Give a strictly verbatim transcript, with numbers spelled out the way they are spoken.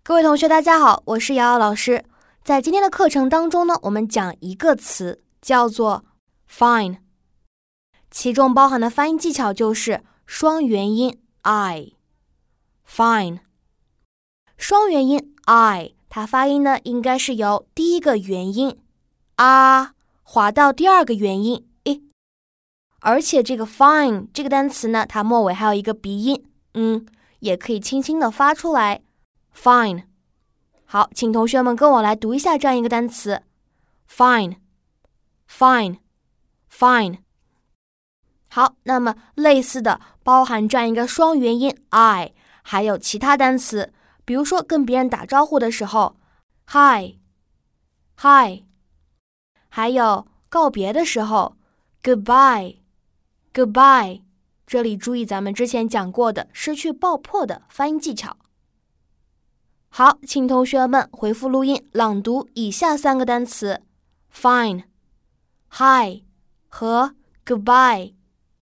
各位同学大家好，我是瑶瑶老师。在今天的课程当中呢，我们讲一个词叫做 fine， 其中包含的发音技巧就是双元音 I fine。 双元音 I 它发音呢应该是由第一个元音啊滑到第二个元音 i， 而且这个 fine 这个单词呢，它末尾还有一个鼻音，嗯，也可以轻轻的发出来 fine。 好，请同学们跟我来读一下这样一个单词 fine fine fine。 好，那么类似的包含这样一个双元音 I， 还有其他单词，比如说跟别人打招呼的时候 hi hi， 还有告别的时候 goodbye goodbye。 这里注意咱们之前讲过的失去爆破的发音技巧。好，请同学们回复录音朗读以下三个单词 fine hi 和 goodbye。